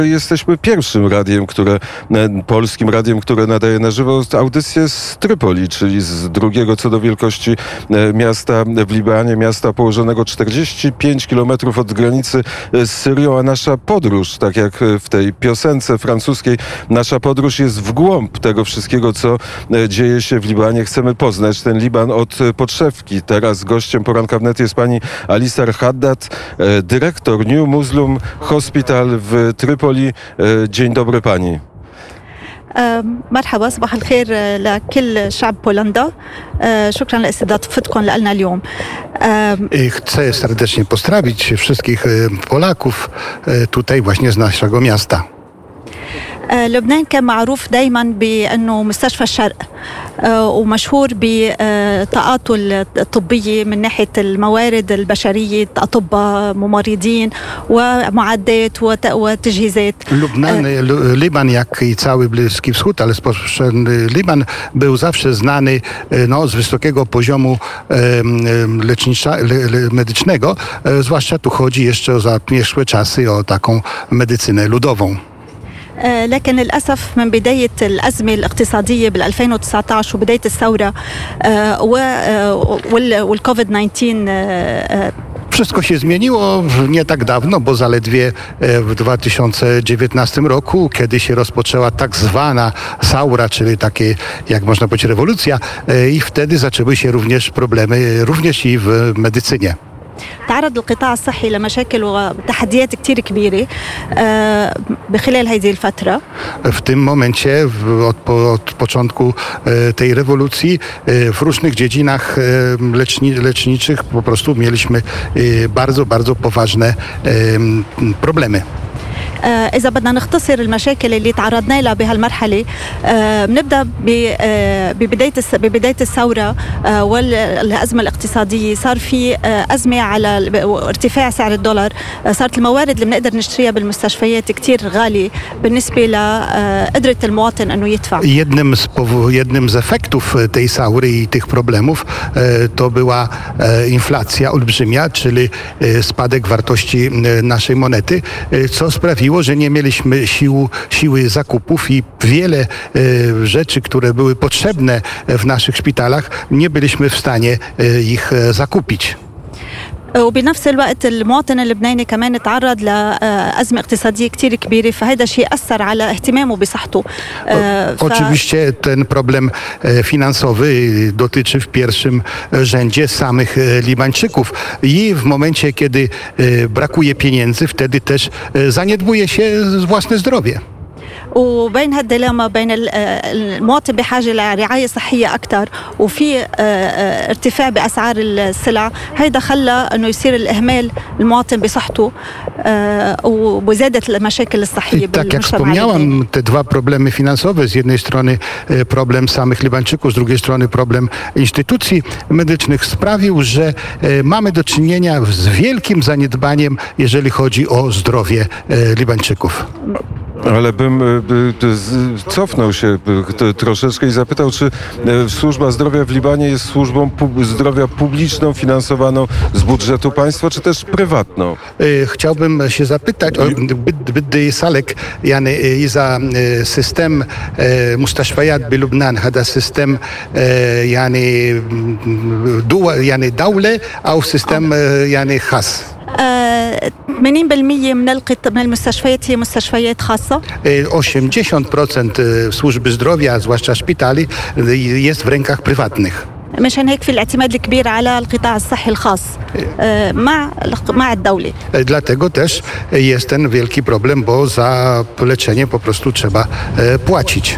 Jesteśmy pierwszym radiem, polskim radiem, które nadaje na żywo audycję z Trypoli, czyli z drugiego co do wielkości miasta w Libanie, miasta położonego 45 kilometrów od granicy z Syrią, a nasza podróż, tak jak w tej piosence francuskiej, nasza podróż jest w głąb tego wszystkiego, co dzieje się w Libanie. Chcemy poznać ten Liban od podszewki. Teraz gościem poranka wnet jest pani Alisar Haddad, dyrektor New Muslim Hospital w Trypoli. Dzień dobry pani. مرحبا صباح الخير لكل شعب بولندا. شكرا لاستضافتكم لنا اليوم. Chcę serdecznie pozdrowić wszystkich Polaków tutaj właśnie z naszego miasta. لبنان كان معروف دايما بأنه مستشفى الشرق ومشهور بطاقاته الطبية من ناحية الموارد البشرية، أطباء، ممرضين ومعدات وتجهيزات. Liban, jak i cały Bliski Wschód, ale Liban był zawsze znany z wysokiego poziomu medycznego, zwłaszcza tu chodzi jeszcze o zamierzchłe czasy, o taką medycynę ludową. لكن للأسف من بداية الأزمة الاقتصادية بال2019 وبداية الثورة والكوفيد-19. Wszystko się zmieniło nie tak dawno, bo zaledwie w 2019 roku, kiedy się rozpoczęła tak zwana saura, czyli takie, jak można powiedzieć, rewolucja, i wtedy zaczęły się również problemy, również i w medycynie. تعرض القطاع الصحي لمشاكل وتحديات كتير كبيرة بخلال هذه الفترة. W tym momencie, od początku tej rewolucji, w różnych dziedzinach leczniczych po prostu mieliśmy bardzo, bardzo poważne problemy. إذا بدنا نختصر المشاكل اللي تعرضنا لها بهالمرحلة، بنبدأ ببداية الثورة والأزمة الاقتصادية. صار في أزمة على ارتفاع سعر الدولار، صارت الموارد اللي بنقدر نشتريها بالمستشفيات كتير غالية بالنسبة لقدرة المواطن أنه يدفع. Jednym z efektów tej saury i tych problemów to była inflacja olbrzymia, czyli spadek wartości naszej monety, co sprawiło, że nie mieliśmy siły zakupów i wiele rzeczy, które były potrzebne w naszych szpitalach, nie byliśmy w stanie ich zakupić. وبنفس الوقت المواطن اللبناني كمان تعرض لأزمة اقتصادية كتير كبيرة، فهذا الشيء أثر على اهتمامه بصحته. Oczywiście ten problem finansowy dotyczy w pierwszym rzędzie samych Libańczyków i w momencie, kiedy brakuje pieniędzy, wtedy też zaniedbuje się własne zdrowie. وبين هالديلاما بين المواطن بحاجة لرعاية صحية أكثر وفي ارتفاع بأسعار السلع، هيدا خلى أنه يصير الإهمال المواطن بصحته وزادت المشاكل الصحية بالمجتمع. Tak jak wspomniałam, te dwa problemy finansowe, z jednej strony problem samych Libańczyków, z drugiej strony problem instytucji medycznych sprawił, że mamy do czynienia z wielkim zaniedbaniem, jeżeli chodzi o zdrowie Libańczyków. Ale bym cofnął się troszeczkę i zapytał, czy służba zdrowia w Libanie jest służbą zdrowia publiczną, finansowaną z budżetu państwa, czy też prywatną? Chciałbym się zapytać, بدي يسألك يعني إذا سيستم مستشفيات بلبنان هذا سيستم يعني دولة أو سيستم يعني خاص؟ 80% من المستشفيات هي مستشفيات خاصة. 80% służby zdrowia, zwłaszcza szpitali, jest w rękach prywatnych. مشان هيك في الاعتماد الكبير على القطاع الصحي الخاص مع الدولة. Dlatego też jest ten wielki problem, bo za leczenie po prostu trzeba płacić.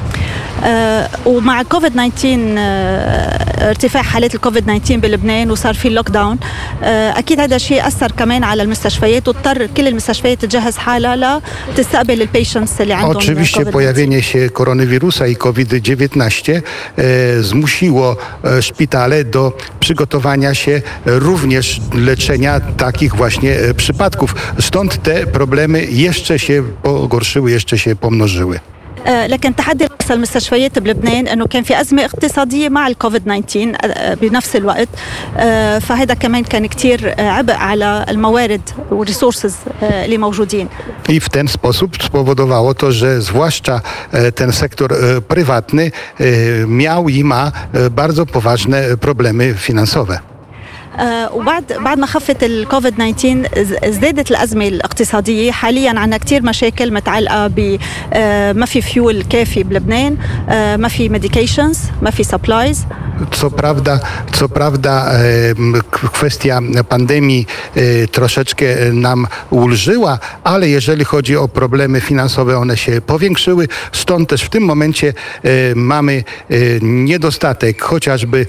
ومع كوفيد-19 ارتفاع حالات الكوفيد-19 بلبنان وصار في لوك داون، اكيد هذا الشيء اثر كمان على المستشفيات واضطر كل المستشفيات تجهز حالها لتستقبل البيشنتس اللي عندهم. Oczywiście pojawienie się koronawirusa i COVID-19 zmusiło szpitale do przygotowania się również leczenia takich właśnie przypadków. Stąd te problemy jeszcze się pogorszyły, jeszcze się pomnożyły. لكن تحدي المستشفيات بلبنان أنه كان في أزمة اقتصادية مع الكوفيد 19 بنفس الوقت، فهذا كمان كان كتير عبء على الموارد والريسورسز اللي موجودين. I w ten sposób spowodowało to, że zwłaszcza ten sektor prywatny miał i ma bardzo poważne problemy finansowe. وبعد ما خفت الكوفيد 19 ازدادت الأزمة الاقتصادية. حاليا عندنا كتير مشاكل متعلقة ب ما في فيول كافي بلبنان، ما في ميديكيشنز، ما في سبلايز. Co prawda kwestia pandemii troszeczkę nam ulżyła, ale jeżeli chodzi o problemy finansowe, one się powiększyły. Stąd też w tym momencie mamy niedostatek chociażby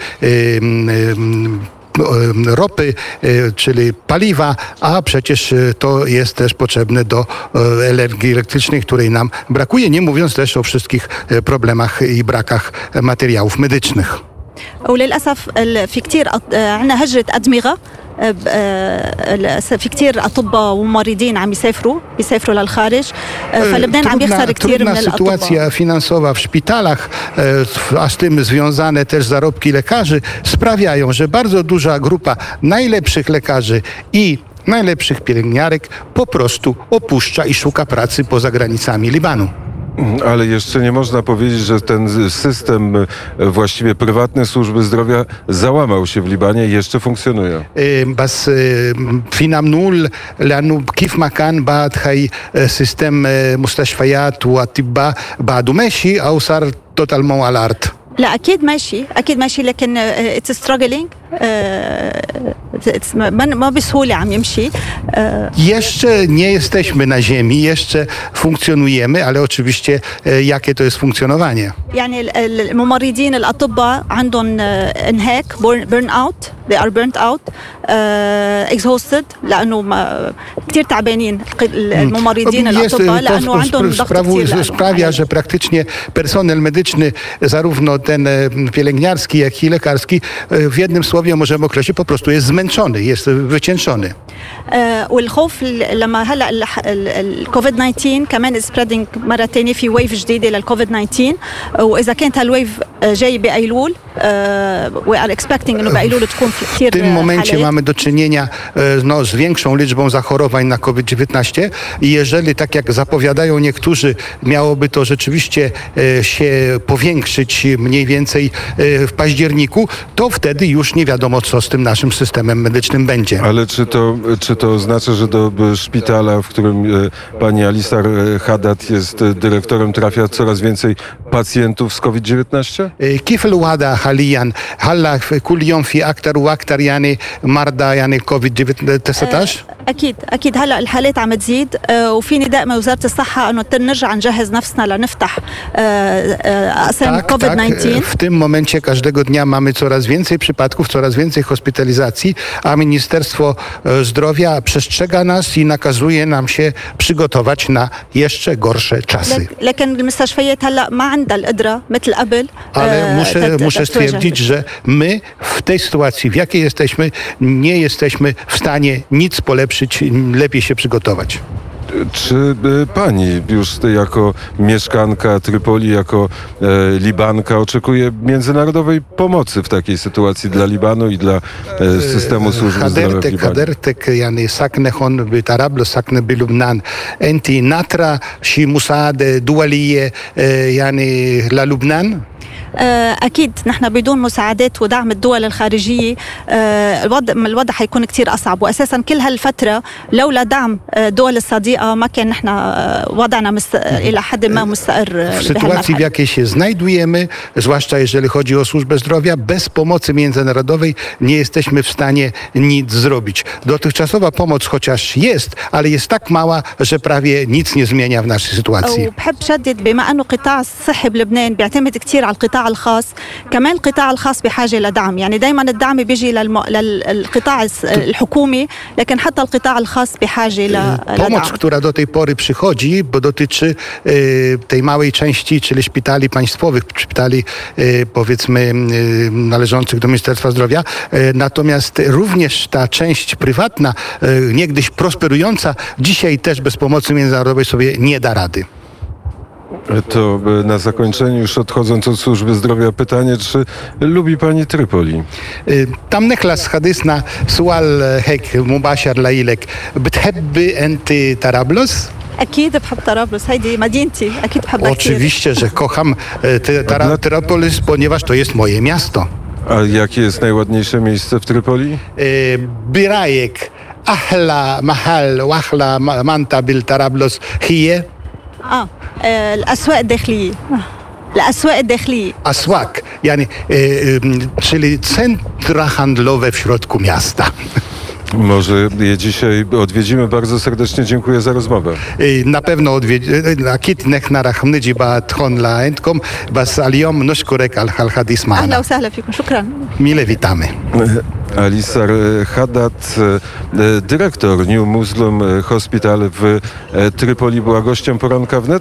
ropy, czyli paliwa, a przecież to jest też potrzebne do energii elektrycznej, której nam brakuje, nie mówiąc też o wszystkich problemach i brakach materiałów medycznych. وللأسف في كتير عندنا هجرة أدمغة، في كتير أطباء وممرضين عم بيسافروا للخارج، فلبنان عم يخسر كتير من الأطباء. Sytuacja finansowa w szpitalach, a z tym związane też zarobki lekarzy sprawiają, że bardzo duża grupa najlepszych lekarzy i najlepszych pielęgniarek po prostu opuszcza i szuka pracy poza granicami Libanu. Ale jeszcze nie można powiedzieć, że ten system właściwie prywatnej służby zdrowia załamał się w Libanie i jeszcze funkcjonuje. بس في نقول لأنه كيف ما كان بعد هاي سيستم مستشفيات وأطباء بعده ماشي أو صار totalement على الأرض. لا أكيد ماشي لكن it's struggling. ما بسهولة عم يمشي. Jeszcze nie jesteśmy na ziemi, jeszcze funkcjonujemy, ale oczywiście jakie to jest funkcjonowanie? يعني الممرضين الأطباء عندهم انهاك burn out. They are burnt out, exhausted لأنه كتير تعبانين الممرضين الأطباء لأنه عندهم ضغط كتير. Sprawia, że praktycznie personel medyczny, zarówno ten pielęgniarski, jak i lekarski, w jednym słowie możemy określić, po prostu jest zmęczony, jest wycieńczony. والخوف لما هلا الكوفيد 19 كمان سبريدنج مرة تانية في ويف جديدة للكوفيد 19، وإذا كانت هالويف جاي بأيلول we are expecting إنه بأيلول تكون في كتير. W tym momencie mamy do czynienia z większą liczbą zachorowań na COVID-19 i jeżeli, tak jak zapowiadają niektórzy, miałoby to rzeczywiście się powiększyć mniej więcej w październiku, to wtedy już nie wiadomo, co z tym naszym systemem medycznym będzie. Ale czy to oznacza, że do szpitala, w którym pani Alisar Haddad jest dyrektorem, trafia coraz więcej pacjentów z COVID-19? كيف الوضع حاليا؟ هلا كل يوم في اكثر واكثر يعني مرضى يعني كوفيد 19؟ اكيد هلا الحالات عم تزيد، وفي نداء من وزاره الصحه انه نرجع نجهز نفسنا لنفتح اقسام كوفيد 19. W tym momencie każdego dnia mamy coraz więcej przypadków, coraz więcej hospitalizacji, a Ministerstwo Zdrowia przestrzega nas i nakazuje nam się przygotować na jeszcze gorsze czasy. لكن المستشفيات هلا ما عندها القدره مثل قبل. Ale muszę stwierdzić, że my w tej sytuacji, w jakiej jesteśmy, nie jesteśmy w stanie nic polepszyć, lepiej się przygotować. Czy pani już jako mieszkanka Trypoli, jako Libanka oczekuje międzynarodowej pomocy w takiej sytuacji dla Libanu i dla systemu służby zdrowia w Libanie? حضرتك يعني ساكنة هون بطرابلس، ساكنة بلبنان، أنت ناطرة شي مساعدة دولية يعني للبنان؟ أكيد نحن بدون مساعدات ودعم الدول الخارجية الوضع حيكون كتير أصعب، وأساسا كل هالفترة لولا دعم دول الصديقة ما كان نحن وضعنا إلى حد ما مستقر. W sytuacji, w jakiej się znajdujemy, zwłaszcza jeżeli chodzi o służbę zdrowia, bez pomocy międzynarodowej nie jesteśmy w stanie nic zrobić. Dotychczasowa pomoc chociaż jest, ale jest tak mała, że prawie nic nie zmienia w naszej sytuacji. وبحب شدد بما أنه قطاع الصحي بلبنان بيعتمد كتير على القطاع الخاص، كمان القطاع الخاص بحاجة لدعم، يعني دايما الدعم بيجي للقطاع الحكومي، لكن حتى القطاع الخاص بحاجة لدعم. Pomoc, która do tej pory przychodzi, bo dotyczy tej małej części, czyli szpitali państwowych, szpitali powiedzmy należących do Ministerstwa Zdrowia, natomiast również ta część prywatna, niegdyś prosperująca, dzisiaj też bez pomocy międzynarodowej sobie nie da rady. To na zakończenie, już odchodząc od służby zdrowia, pytanie, czy lubi pani Trypoli? tam نخلص حديثنا سؤال هيك مباشر لإلك بتحب أنت طرابلس؟ اكيد بحب طرابلس، هيدي مدينتي، اكيد بحبها كثير. Oczywiście, że kocham Tyrapolis, ponieważ to jest moje miasto. A jakie jest najładniejsze miejsce w Trypoli? برايك أحلى محل وأحلى منطقة بالطرابلس هي الاسواق الداخليه. الاسواق الداخليه. Aswak, czyli centra handlowe w środku miasta. Może je dzisiaj odwiedzimy. Bardzo serdecznie dziękuję za rozmowę. Na pewno أكيد نحن راح نجي بعد هون لعندكم بس اليوم نشكرك على الحديث اهلا معنا. وسهلا فيكم، شكرا. Mile witamy. Alisar Haddad, dyrektor New Muslim Hospital w Trypoli, była gościem Poranka Wnet.